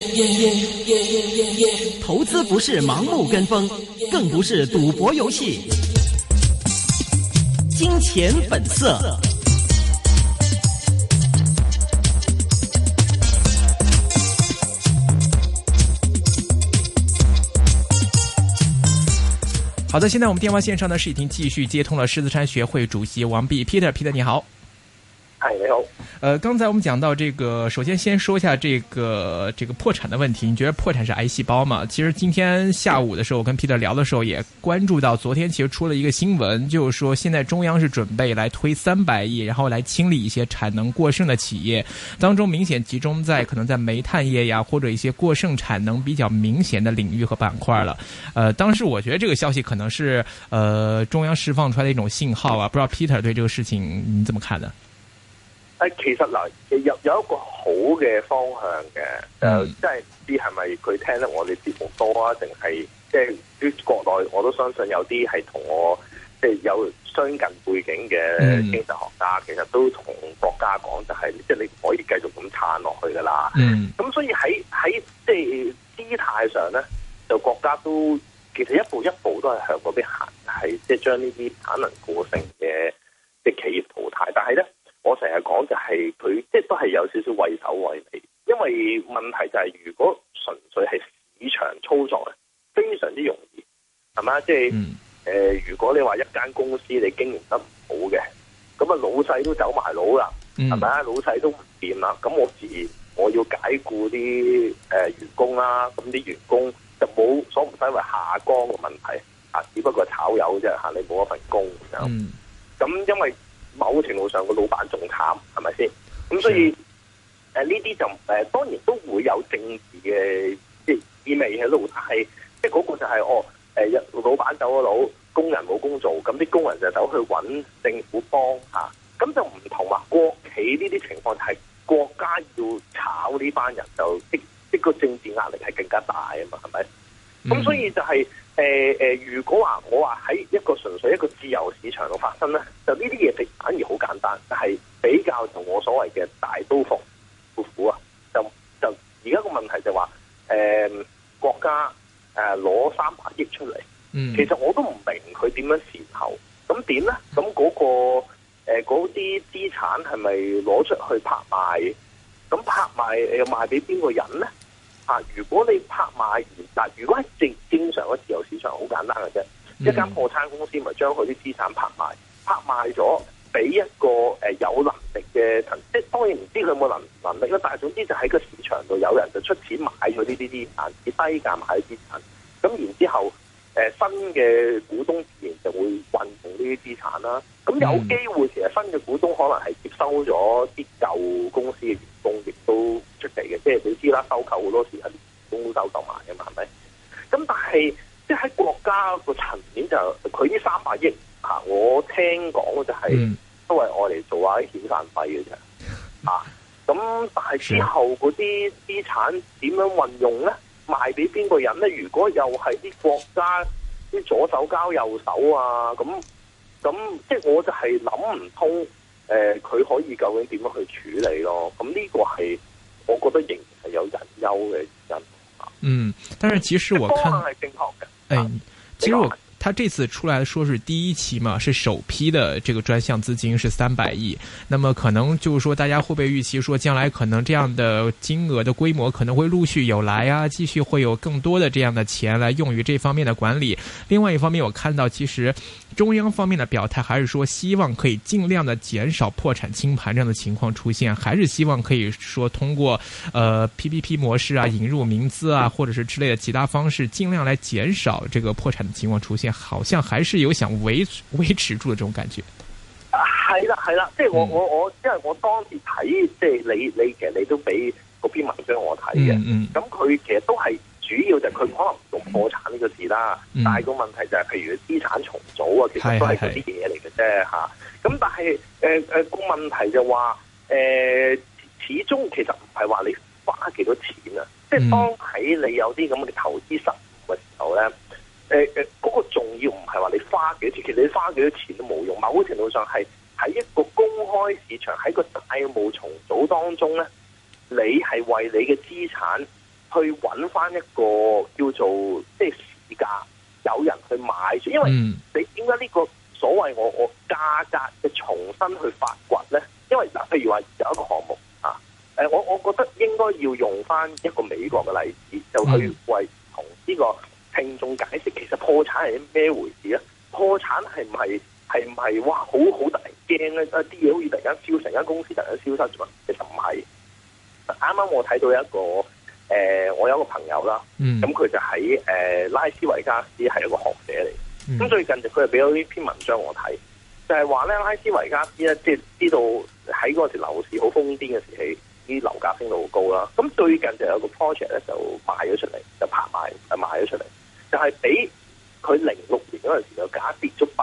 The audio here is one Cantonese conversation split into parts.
投资不是盲目跟风，更不是赌博游戏。金钱本色。好的，现在我们电话线上呢是已经继续接通了狮子山学会主席王弼 Peter 你好。 嗨，你好。 刚才我们讲到这个，首先先说一下这个破产的问题。你觉得破产是癌细胞吗？其实今天下午的时候，我跟 Peter 聊的时候也关注到，昨天其实出了一个新闻，就是说现在中央是准备来推300亿，然后来清理一些产能过剩的企业，当中明显集中在可能在煤炭业呀，或者一些过剩产能比较明显的领域和板块了。当时我觉得这个消息可能是中央释放出来的一种信号啊，不知道 Peter 对这个事情你怎么看呢？ 其實嗱，有一個好嘅方向嘅，即係唔知係咪佢聽得我哋節目多啊，定係即係啲國內我都相信有啲係同我即係有相近背景嘅經濟學家，其實都同國家講就係即係你唔可以繼續咁撐落去㗎啦。咁所以喺即係姿態上咧，就國家都其實一步一步都係向嗰邊行，係即係將呢啲產能過剩嘅即係企業淘汰，但係咧。我成日講就係佢即係都係有少少畏首畏尾，因為問題就係如果純粹係市場操作咧，非常之容易，係嘛？即係如果你話一間公司你經營得唔好嘅，咁啊老細都走埋佬啦，係咪啊？老細都唔掂啦，咁我自然我要解僱啲員工啦，咁啲員工就冇所唔使為下崗嘅問題啊，只不過炒魷啫嚇，你冇一份工咁樣。咁因為某程度上個老闆仲慘，係咪先？咁所以呢啲就當然都會有政治嘅即係意味喺度，但係即係嗰個就係老闆走咗佬，工人冇工做，咁啲工人就走去揾政府幫嚇，咁就唔同話國企呢啲情況係國家要炒呢班人，就即個政治壓力係更加大啊嘛，係咪？咁所以就係如果話我話喺一個純粹一個自由市場度發生咧，就呢啲嘢反而好簡單，但係比較同我所謂嘅大刀闊斧啊，就而家個問題就話國家攞300億出嚟，其實我都唔明佢點樣善後，咁點咧？咁嗰啲資產係咪攞出去拍賣？咁拍賣又賣俾邊個人咧？如果你拍賣完，如果係正常嘅自由市場，好簡單嘅啫。一間破產公司咪將佢啲資產拍賣咗，俾一個有能力嘅，即係當然唔知佢有冇能力啦。但係總之就喺個市場度有人就出錢買咗呢啲資產，以低價買啲資產。咁然之後，新嘅股東自然就會運用呢啲資產啦。咁有機會其實新嘅股東可能係接收咗啲舊公司嘅員工，亦都出奇嘅。即係你知啦，收購好多時係員工收購埋嘅嘛，係咪？咁但係即係喺國家個層面就佢呢300億我聽講就係都係愛嚟做下啲遣散費嘅啫。咁但係之後嗰啲資產點樣運用咧？賣俾邊個人咧？如果又係啲國家啲左手交右手啊，咁即係我就係諗唔通，佢可以究竟點樣去處理咯？咁呢個係我覺得仍然係有隱憂嘅原因。 但是其實我看方案係正確嘅。 其實他這次出來說是第一期嘛，是首批的這個專項資金是300億，那麼可能就是說大家會不會預期說將來可能這樣的金額的規模可能會陸續有來啊，繼續會有更多的這樣的錢來用於這方面的管理。另外一方面我看到其實中央方面的表態還是說希望可以盡量的減少破產清盤這樣的情況出現，還是希望可以說通過PPP 模式啊，引入民資啊，或者是之類的其他方式盡量來減少這個破產的情況出現，好像還是有想維持住的這種感覺。 係啦，即係我因為我當時睇，即係你其實你都俾嗰篇文章我睇嘅，咁佢其實都係主要就係佢可能唔用破產呢個字啦，但係個問題就係譬如資產重組啊，其實都係嗰啲嘢嚟嘅啫嚇。咁但係個問題就話始終其實唔係話你花幾多錢啊，即係當喺你有啲咁嘅投資失誤嘅時候咧。嗰個重要唔係話你花幾多錢，其實你花幾多錢都冇用。某程度上係喺一個公開市場，喺個債務重組當中咧，你係為你嘅資產去揾翻一個叫做即係市價，有人去買住，因為你點解呢個所謂我價格嘅重新去發掘咧？因為嗱，譬如話有一個項目啊，我覺得應該要用翻一個美國嘅例子，就去為同呢個聽眾解釋，其實破產係咩回事啊？破產係唔係哇好突然驚咧？啲嘢好似突然間燒，成間公司突然間消失咗，其實唔係。啱啱我睇到一個我有一個朋友啦，咁佢就喺拉斯維加斯係一個學者嚟，咁最近佢就俾咗呢篇文章我睇，就係話咧拉斯維加斯咧，即係知道喺嗰時樓市好瘋癲嘅時期，啲樓價升到好高啦。咁最近就有個 project 咧就賣咗出嚟，就拍賣賣咗出嚟，就係比佢06年嗰陣時嘅價跌咗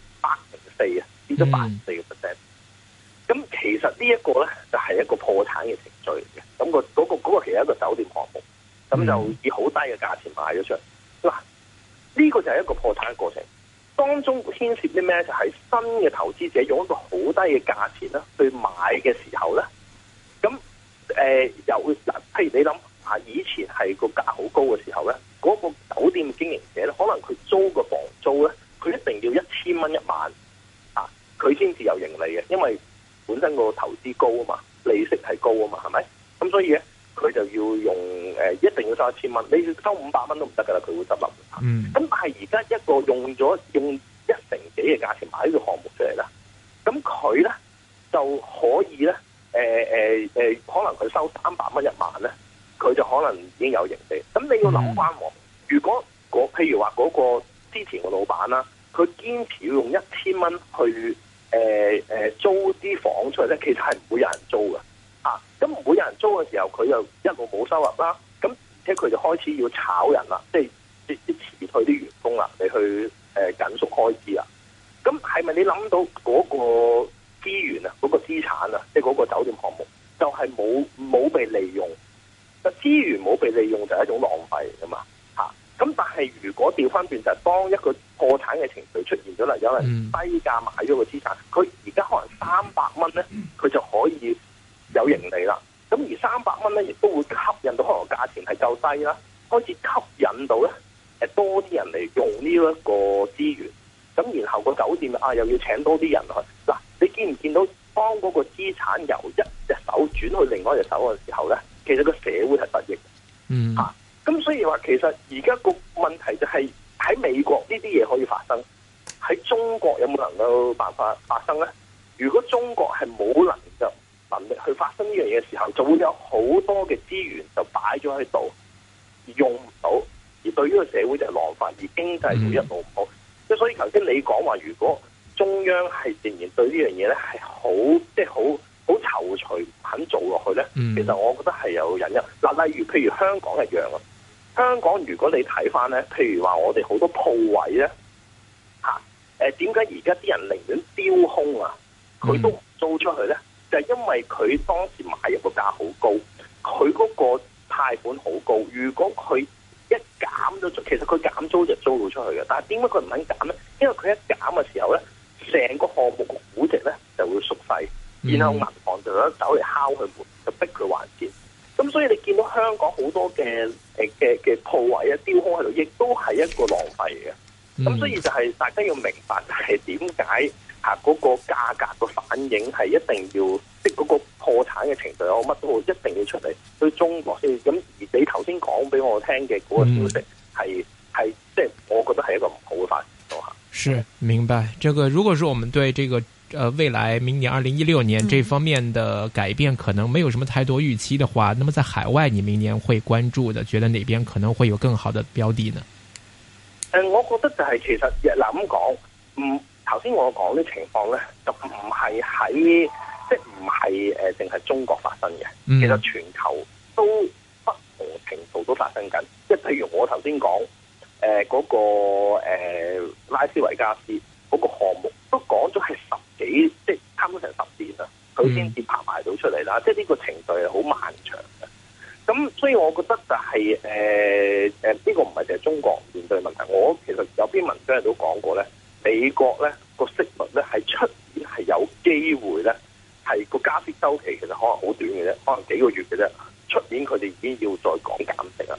804啊，跌咗84%。咁其實呢一個咧就係一個破產嘅程序嚟嘅，咁嗰個其實係一個酒店項目，咁就以好低嘅價錢賣咗出嚟。嗱，呢個就係一個破產嘅過程，當中牽涉啲咩？就係新嘅投資者用一個好低嘅價錢啦去買嘅時候咧，咁譬如你諗下，以前係個價好高嘅時候咧，嗰個酒店經營者咧，可能佢租個房租咧，佢一定要1000蚊一晚啊，佢先至有盈利嘅，因為本身個投資高啊嘛，利息係高啊嘛，係咪？咁所以咧，佢就要用一定要收1000蚊，你收500蚊都唔得噶啦，佢會執笠。咁但係而家一個用1成幾嘅價錢買呢個項目出嚟啦，咁佢咧就可以咧可能佢收300蚊一晚咧，佢就可能已經有盈利。咁你要諗翻喎，如果譬如話嗰個之前個老闆啦，佢堅持要用1000蚊去租啲房出嚟咧，其實係唔會有人租嘅，咁唔會有人租嘅時候，佢又一路冇收入啦，咁而且佢就開始要炒人啦，即係啲辭退啲員工啦，你去緊縮開支啦，咁係咪你諗到嗰個資源啊，嗰個資產啊，即係嗰個酒店項目，就係冇被利用？資源冇被利用就係一種浪費嚟噶嘛，咁但係如果調翻轉就係當一個破產嘅程序出現咗啦，有人低價買咗個資產，佢而家可能300蚊咧，佢就可以有盈利啦。咁而300蚊咧，亦都會吸引到可能價錢係夠低啦，開始吸引到咧多啲人嚟用呢一個資源。咁然後個酒店又要請多啲人去。嗱，你見唔見到當嗰個資產由一隻手轉去另外一隻手嘅時候咧，其實個社會係得益嘅。咁所以話其實而家個問題就係喺美國呢啲嘢可以發生，喺中國有冇能夠辦法發生咧？如果中國係冇能力去發生呢樣嘢嘅時候，就會有好多嘅資源就擺咗喺度，而用唔到，而對於個社會就係浪費，而經濟就一路唔好。即係所以頭先你講話，如果中央係仍然對呢樣嘢咧係好躊躇唔肯做落去咧，其實我覺得係有隱憂。嗱，例如譬如香港一樣啊。香港如果你睇翻咧，譬如話我哋好多鋪位咧，點解而家啲人寧願丟空啊，佢都唔租出去咧？就係因為佢當時買入個價好高，佢嗰個貸款好高。如果佢一減咗租，其實佢減租就租到出去嘅。但係點解佢唔肯減咧？因為佢一減嘅時候咧，成個項目嘅估值咧就會縮細，然後銀行就走嚟敲佢門，就逼佢還錢。咁所以你見到香港好多嘅鋪位啊，丟空喺度，亦都係一個浪費嘅。咁所以就係大家要明白，係點解嗰個價格個反應係一定要，即係嗰個破產嘅程序，我乜都好，一定要出嚟對中國先。咁而你頭先講俾我聽嘅嗰個消息係即係我覺得係一個唔好嘅發展咯。 是，明白。這個如果說我們對這個未來明年2016年這方面的改變可能沒有什麼太多預期的話，那麼在海外你明年會關注的，覺得哪邊可能會有更好的標的呢？ 我覺得就係其實咁講，頭先我講啲情況咧，就唔係喺即係唔係淨係中國發生嘅，其實全球都不同程度都發生緊。即係譬如我頭先講嗰個拉斯維加斯嗰個項目，都講咗係即係差唔多成10年啦，佢先至拍賣到出嚟啦。即係呢個程序係好漫長嘅。咁所以我覺得就係呢個唔係淨係中國面對問題。我其實有篇文章都講過咧，美國咧個息率咧係出年係有機會咧係個加息週期其實可能好短嘅啫，可能幾個月嘅啫。出年佢哋已經要再講減息啊。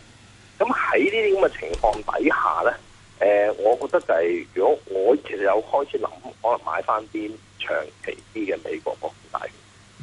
啲咁嘅情況底下咧，我覺得就係如果我其實有開始諗，可能買翻啲長期啲嘅美國國庫債券。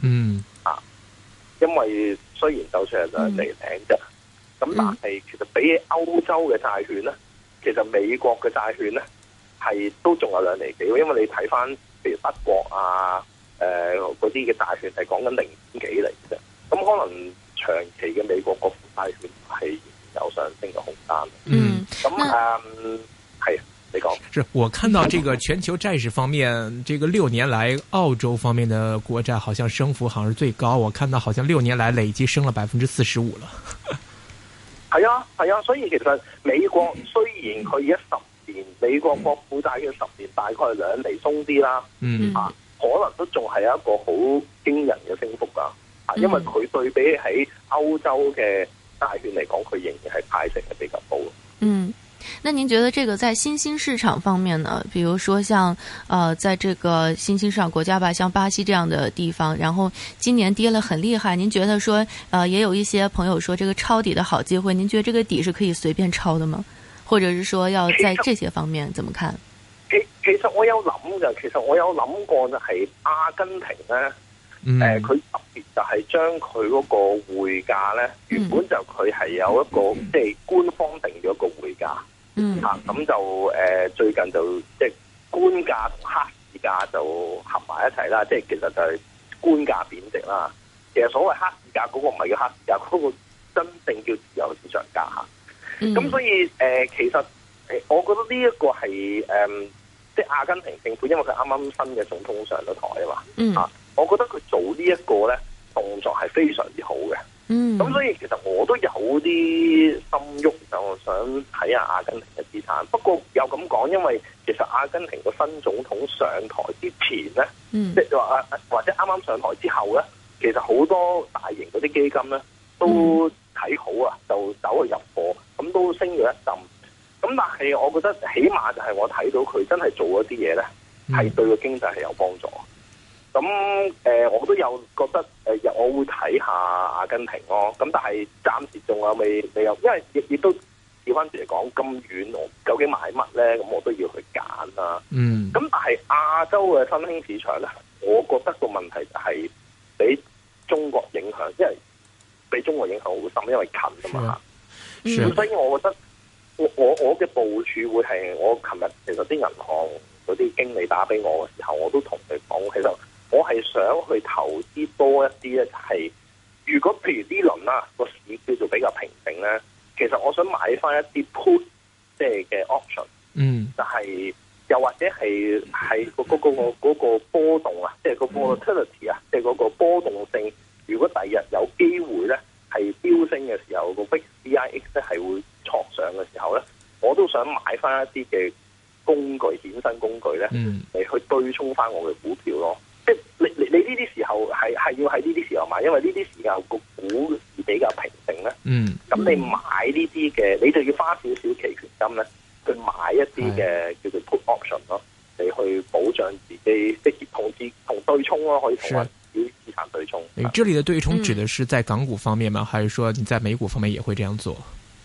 因為雖然就算係兩釐零啫，咁但係其實比起歐洲嘅債券咧，其實美國嘅債券咧係都仲有2厘幾，因為你睇翻譬如德國啊，嗰啲嘅債券係講緊0.幾厘啫，咁可能長期嘅美國國庫債券係有上升嘅空間。咁係。 是我看到這個全球債市方面，這個6年來澳洲方面的國債好像升幅好像是最高，我看到好像6年來累計升了45%了。 係啊，所以其實美國雖然佢而家10年美國國庫債嘅10年大概係2厘鬆啲啦，可能都仲係一個好驚人嘅升幅噶，因為佢對比喺歐洲嘅債券嚟講，佢仍然係派息係比較高。 那您覺得這個在新興市場方面呢？比如說像在這個新興市場國家吧，像巴西這樣的地方，然後今年跌了很厲害。您覺得說也有一些朋友說這個抄底的好機會，您覺得這個底是可以隨便抄的嗎？或者是說要在這些方面怎麼看？ 其實我有諗嘅，其實我有諗過就係阿根廷咧，佢特別就係將佢嗰個匯價咧，原本就佢係有一個即係官方定咗一個匯價。咁就最近就即係官價同黑市價就合埋一齊啦，即係其實就係官價貶值啦。其實所謂黑市價嗰個唔係叫黑市價，嗰個真正叫自由市場價嚇。咁所以其實我覺得呢一個係即係阿根廷政府，因為佢啱啱新嘅總統上咗台啊嘛，我覺得佢做呢一個咧動作係非常之好嘅。咁所以其實我都有啲心喐，就想睇下阿根廷嘅資產。不過又咁講，因為其實阿根廷個新總統上台之前咧，即係話或者啱啱上台之後咧，其實好多大型嗰啲基金咧都睇好啊，就走去入貨，咁都升咗一陣。咁但係我覺得起碼就係我睇到佢真係做一啲嘢咧，係對個經濟係有幫助。咁我都有覺得我會睇下阿根廷咯。咁但係暫時仲有未有，因為亦都調翻轉嚟講咁遠，我究竟買乜咧？咁我都要去揀啦。咁但係亞洲嘅新興市場咧，我覺得個問題就係俾中國影響，因為俾中國影響好深，因為近啊嘛。咁所以我覺得我嘅部署會係我琴日其實啲銀行嗰啲經理打俾我嘅時候，我都同佢講，其實我係想去投資多一啲咧，就係如果譬如呢輪啦個市叫做比較平靜咧，其實我想買翻一啲 put 即係嘅 option，就係又或者係嗰個波動啊，即係個 volatility 啊，即係嗰個波動性。如果第日有機會咧係飆升嘅時候，個 VIX 咧係會挫上嘅時候咧，我都想買翻一啲嘅工具、衍生工具咧嚟去對沖翻我嘅股票咯。即係你呢啲時候係要喺呢啲時候買，因為呢啲時候個股市比較平靜咧。咁你買呢啲嘅，你就要花少少期權金咧，去買一啲嘅叫做 put option 咯，嚟去保障自己，即係同對沖咯，可以同埋啲資產對沖。 你這裡的對沖指的是在港股方面嗎？還是說你在美股方面也會這樣做？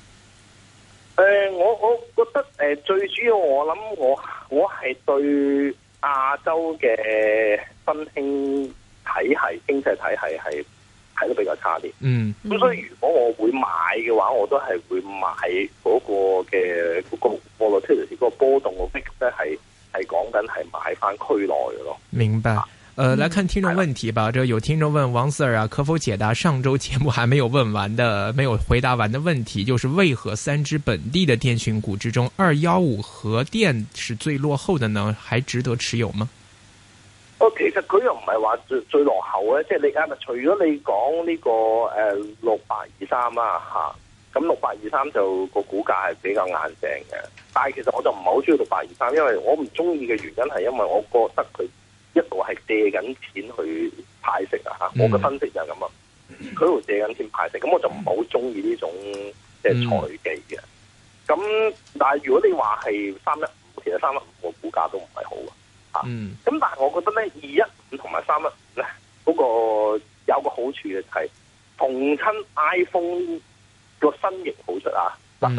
我覺得最主要我諗我係對亞洲嘅新興體系、經濟體系係睇得比較差啲。咁所以如果我會買嘅話，我都係會買嗰個嘅嗰個 volatility 嗰個波動嘅 VIX 咧，係講緊係買翻區內嘅咯。 明白。來看聽眾問題吧。這有聽眾問王 Sir 啊，可否解答上周節目還沒有沒有回答完的問題，就是為何3隻本地的電訊股之中，215核電是最落後的呢？還值得持有嗎？ 其實佢又唔係話最落後咧，即係你除咗你講呢個6823啦嚇，咁6823就個股價係比較硬淨嘅，但係其實我就唔係好中意6823，因為我唔中意嘅原因係因為我覺得佢一路係借緊錢去派息啊嚇，我嘅分析就係咁啊，佢喺度借緊錢派息，咁我就唔係好中意呢種即係財技嘅。咁但係如果你話係315，其實315個股價都唔係好啊。咁但係我覺得咧，215同埋315咧，嗰個有個好處嘅就係逢親 iPhone 個新型號出啊，嗱新型號唔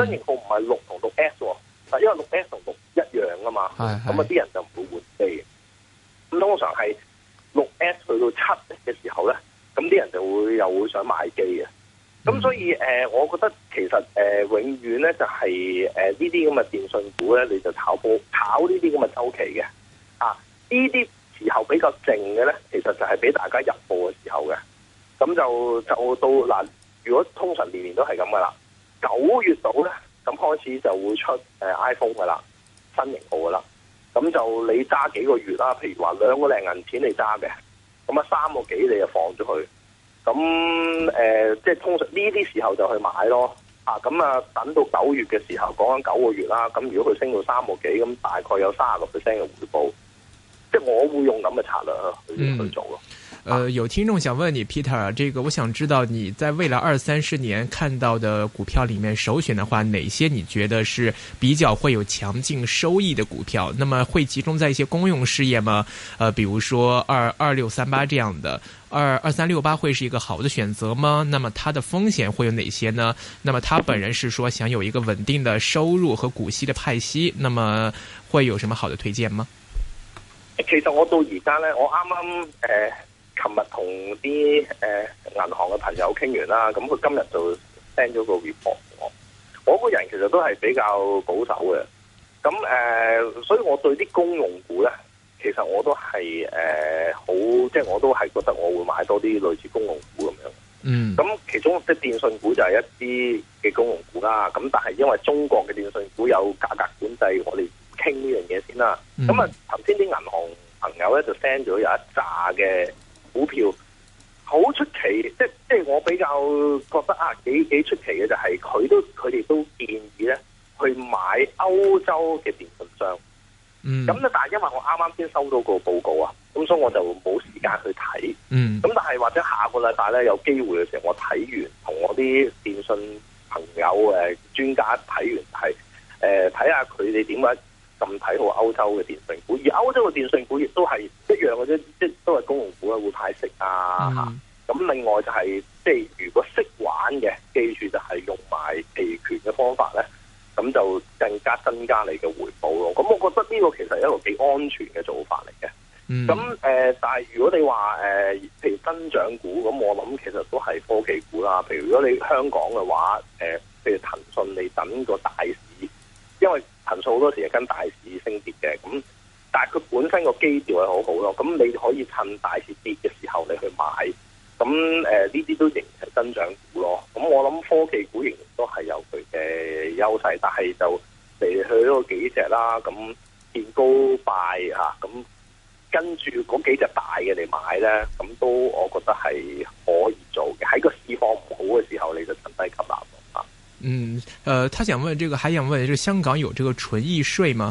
係6同6S 喎，因為6S 同6一樣噶嘛，咁啊啲人就唔會換機。咁通常係6S 去到7嘅時候咧，咁啲人就又會想買機嘅。咁所以我覺得其實永遠咧就係呢啲咁嘅電訊股咧，你就炒呢啲咁嘅周期嘅。呢啲時候比較靜嘅咧，其實就係俾大家入貨嘅時候嘅。咁就到嗱，如果通常年年都係咁噶啦，9月度咧，咁開始就會出iPhone 噶啦，新型號噶啦。咁就你揸幾個月啦，譬如話2個零銀錢你揸嘅，咁啊3個幾你就放咗佢。咁即係通常呢啲時候就去買咯。咁等到9月嘅時候，講緊9個月啦。咁如果佢升到3個幾，咁大概有30%嘅回報。即係我會用咁嘅策略去做咯。 有聽眾想問你 Peter， 這個我想知道你在未來20-30年看到的股票裏面首選的話，哪些你覺得是比較會有強勁收益的股票？那麼會集中在一些公用事業嗎？比如說2638這樣的，2368會是一個好的選擇嗎？那麼它的風險會有哪些呢？那麼他本人是說想有一個穩定的收入和股息的派息，那麼會有什麼好的推薦嗎？ 其實我到而家咧，我啱啱琴日同啲銀行嘅朋友傾完啦，咁佢今日就 send 咗個 report 我。我個人其實都係比較保守嘅，咁所以我對啲公用股咧，其實我都係即係我都係覺得我會買多啲類似公用股咁樣。咁其中即係電信股就係一啲嘅公用股啦。咁但係因為中國嘅電信股有價格管制，我哋傾呢樣嘢先啦。咁頭先啲銀行朋友咧就 send 咗有一紮嘅股票，好出奇，即係我比較覺得幾出奇嘅就係佢哋都建議咧去買歐洲嘅電信商。咁咧但係因為我啱啱先收到個報告啊，咁所以我就冇時間去睇。咁但係或者下個禮拜咧有機會嘅時候，我睇完同我啲電信朋友專家睇完係睇下佢哋點解咁睇好歐洲嘅電信股，而歐洲嘅電信股亦都係一樣嘅啫，即係都係公用股啊，會派息啊。咁另外就係即係如果識玩嘅，記住就係用埋期權嘅方法咧，咁就更加增加你嘅回報咯。咁我覺得呢個其實係一個幾安全嘅做法嚟嘅。咁但係如果你話譬如增長股，咁我諗其實都係科技股啦。譬如如果你香港嘅話，譬如騰訊，你等個大市，因為騰訊好多時係跟大市升跌嘅。咁但係佢本身個基調係好好咯。咁你可以趁大市跌嘅時候你去買。咁呢啲都仍然係增長股咯。咁我諗科技股仍然都係有佢嘅優勢，但係就嚟去嗰幾隻啦。咁見高拜咁跟住嗰幾隻大嘅嚟買咧，咁都我覺得係可以做嘅。喺個市況唔好嘅時候，你就趁低吸納。 他想問這個，還想問，這個香港有這個純益稅嗎？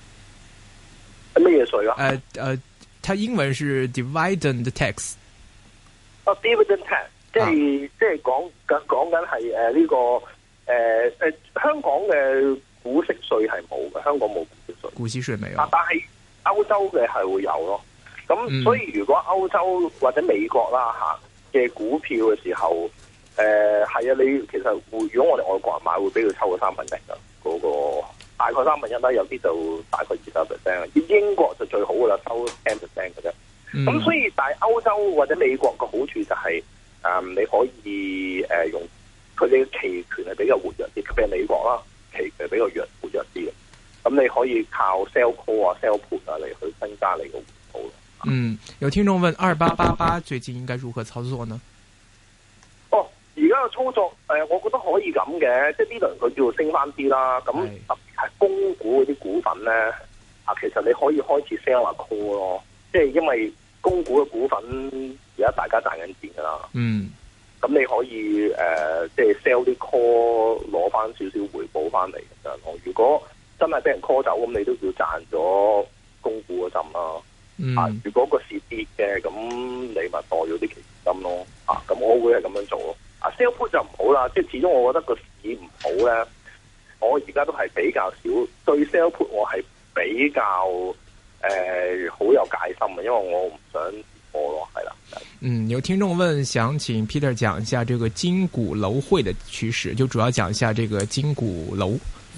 咩嘢稅啊？ 它英文是 dividend tax。 dividend tax， 即係講緊係呢個香港嘅股息稅係冇嘅，香港冇股息稅。股息稅未有。但係歐洲嘅係會有咯。咁所以如果歐洲或者美國啦嘅股票嘅時候，係啊，你其實如果我哋外國人買，會俾佢抽個1/3噶，嗰個大概1/3啦，有啲就大概20%。英國就最好噶啦，收10%嘅啫。咁所以，但係歐洲或者美國嘅好處就係，你可以用佢哋嘅期權係比較活躍啲，特別係美國啦，期權比較活躍啲嘅。咁你可以靠 sell call 啊、sell put 啊嚟去增加你個回報咯。 有聽眾問2888最近應該如何操作呢？ 而家嘅操作，我覺得可以咁嘅，即係呢輪佢叫做升翻啲啦。咁特別係供股嗰啲股份咧，其實你可以開始 sell 下 call 咯。即係因為供股嘅股份而家大家賺緊錢噶啦，咁你可以即係 sell 啲 call 攞翻少少回報翻嚟咁樣咯。如果真係俾人 call 走，咁你都要賺咗供股嗰陣啦。如果個市跌嘅，咁你咪代咗啲期金咯。咁我會係咁樣做咯。sell put 就唔好啦，即係始終我覺得個市唔好咧。我而家都係比較少對 sell put， 我係比較好有戒心嘅，因為我唔想破咯，係啦。 有聽眾問，想請 Peter 講一下這個金股樓匯的趨勢，就主要講一下這個金股樓。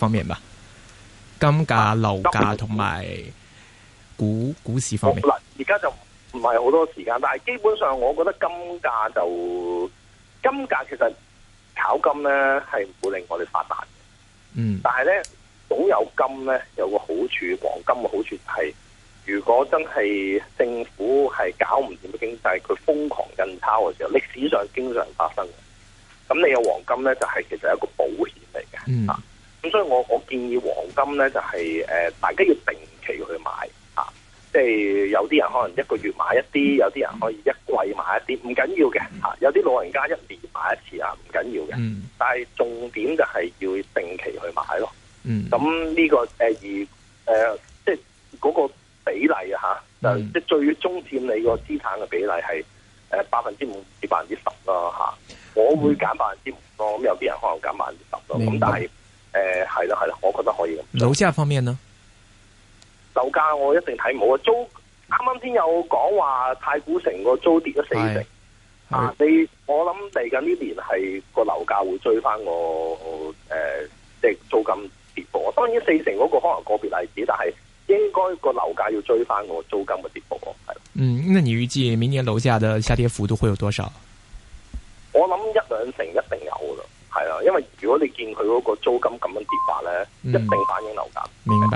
方面吧，金價、樓價同埋股市方面。 嗱，而家就唔係好多時間，但係基本上我覺得金價其實炒金咧係唔會令我哋發達嘅。但係咧總有金咧有個好處，黃金嘅好處就係，如果真係政府係搞唔掂嘅經濟，佢瘋狂印鈔嘅時候，歷史上經常發生嘅。咁你有黃金咧，就係其實係一個保險嚟嘅。咁所以我建議黃金咧就係大家要定期去買啊，即係有啲人可能一個月買一啲，有啲人可以一季買一啲，唔緊要嘅嚇。有啲老人家一年買一次啊，唔緊要嘅。但係重點就係要定期去買咯。咁呢個即係嗰個比例啊嚇，就即係最終佔你個資產嘅比例係5%至10%咯嚇。我會揀5%咯，咁有啲人可能揀10%咯。咁但係係啦，我覺得可以咁。 樓價方面呢？ 樓價我一定睇唔好啊！租啱啱先有講話太古城個租跌咗40%啊！我諗嚟緊呢年係個樓價會追翻即係租金跌幅。當然40%嗰個可能個別例子，但係應該個樓價要追翻個租金嘅跌幅係。 那你預計明年樓價的下跌幅度會有多少？ 我諗1-2成一定有噶啦，係啊，因為如果你見佢嗰個租金咁樣跌法咧，一定反映樓價。 明白。